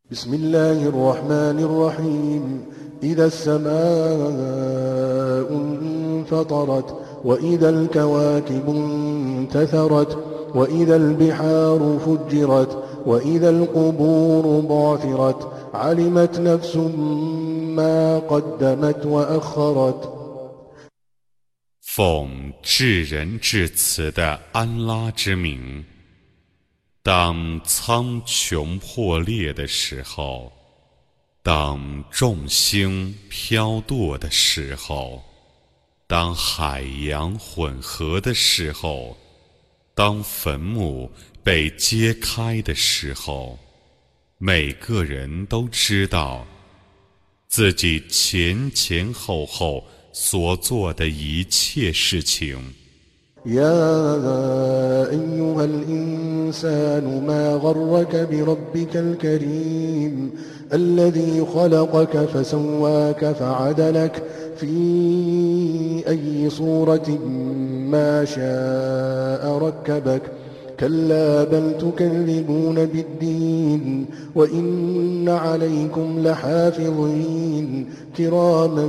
بسم الله الرحمن الرحيم إذا السماء انفطرت وإذا الكواكب انتثرت وإذا البحار فجرت وإذا القبور بعثرت علمت نفس ما قدمت وأخرت 奉至仁至慈的安拉之名，当苍穹破裂的时候，当众星飘堕的时候，当海洋混合的时候，当坟墓被揭开的时候，每个人都知道自己前前后后所做的一切事情。 يا أيها الإنسان ما غرك بربك الكريم الذي خلقك فسواك فعدلك في أي صورة ما شاء ركبك كلا بل تكذبون بالدين وإن عليكم لحافظين كراما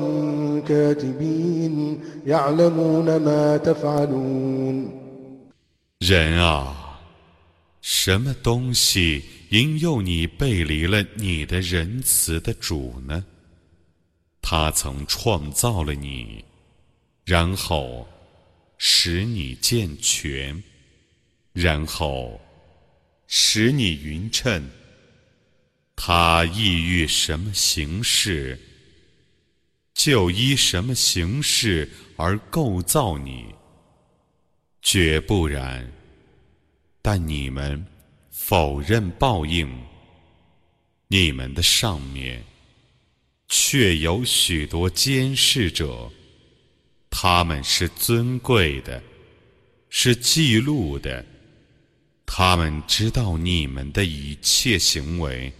كاتبين يعلمون ما تفعلون 人啊，什么东西引诱你背离了你的仁慈的主呢？他曾创造了你，然后使你健全，然后使你匀称。他意欲什么形式，就依什么形式而构造你，绝不然。但你们否认报应，你们的上面却有许多监视者，他们是尊贵的，是记录的，他们知道你们的一切行为。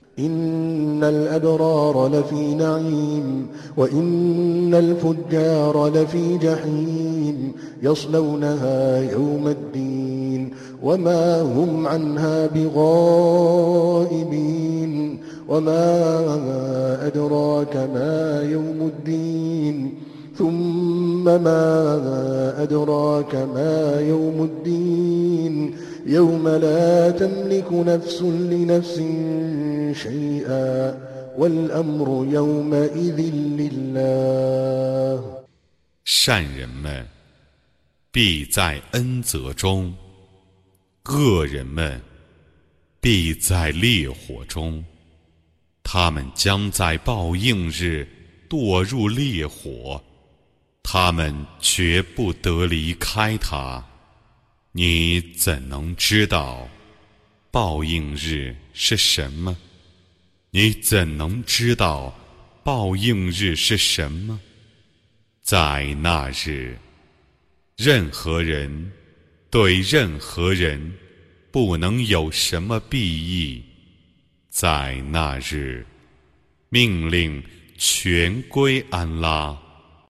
إن الأبرار لفي نعيم وإن الفجار لفي جحيم يصلونها يوم الدين وما هم عنها بغائبين وما أدراك ما يوم الدين ثم ما أدراك ما يوم الدين يوم لا تملك نفس لنفس شيئا والأمر يومئذ لله 善人们必在恩泽中，恶人们必在烈火中，他们将在报应日堕入烈火，他们绝不得离开它。你怎能知道报应日是什么？你怎能知道报应日是什么？在那日，任何人对任何人不能有什么裨益。在那日，命令全归安拉。